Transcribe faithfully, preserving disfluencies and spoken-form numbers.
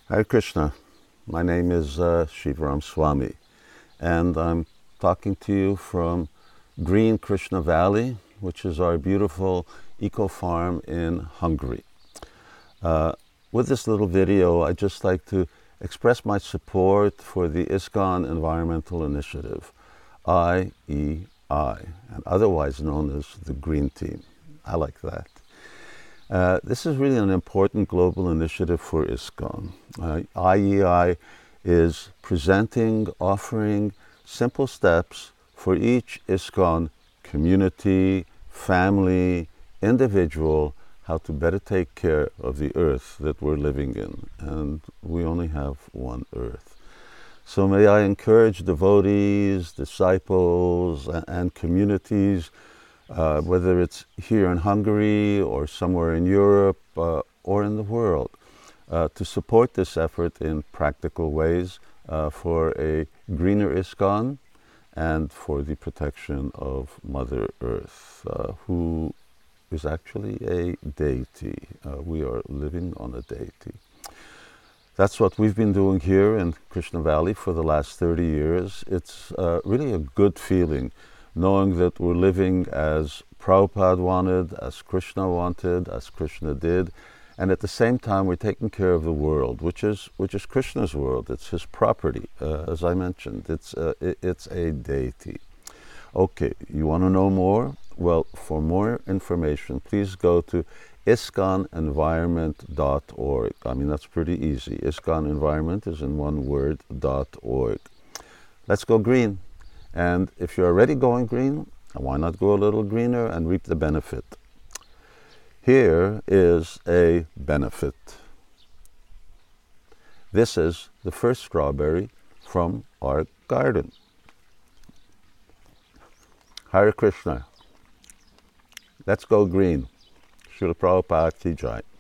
Hare Krishna. My name is uh, Shivaram Swami, and I'm talking to you from Green Krishna Valley, which is our beautiful eco-farm in Hungary. Uh, with this little video, I'd just like to express my support for the ISKCON Environmental Initiative, I E I, and otherwise known as the Green Team. I like that. Uh, this is really an important global initiative for ISKCON. Uh, I E I is presenting, offering simple steps for each ISKCON community, family, individual, how to better take care of the earth that we're living in. And we only have one earth. So may I encourage devotees, disciples, and communities, Uh, whether it's here in Hungary or somewhere in Europe uh, or in the world, uh, to support this effort in practical ways uh, for a greener ISKCON and for the protection of Mother Earth, uh, who is actually a deity. Uh, we are living on a deity. That's what we've been doing here in Krishna Valley for the last thirty years. It's uh, really a good feeling, knowing that we're living as Prabhupada wanted, as Krishna wanted, as Krishna did, and at the same time we're taking care of the world, which is which is Krishna's world. It's his property, uh, as I mentioned. It's uh, it, it's a deity. Okay, you want to know more? Well, for more information, please go to iskon environment dot org. I mean, that's pretty easy. ISKCON Environment is in one word, .org. Let's go green. And if you're already going green, why not go a little greener and reap the benefit? Here is a benefit. This is the first strawberry from our garden. Hare Krishna. Let's go green. Srila Prabhupada Ki Jai.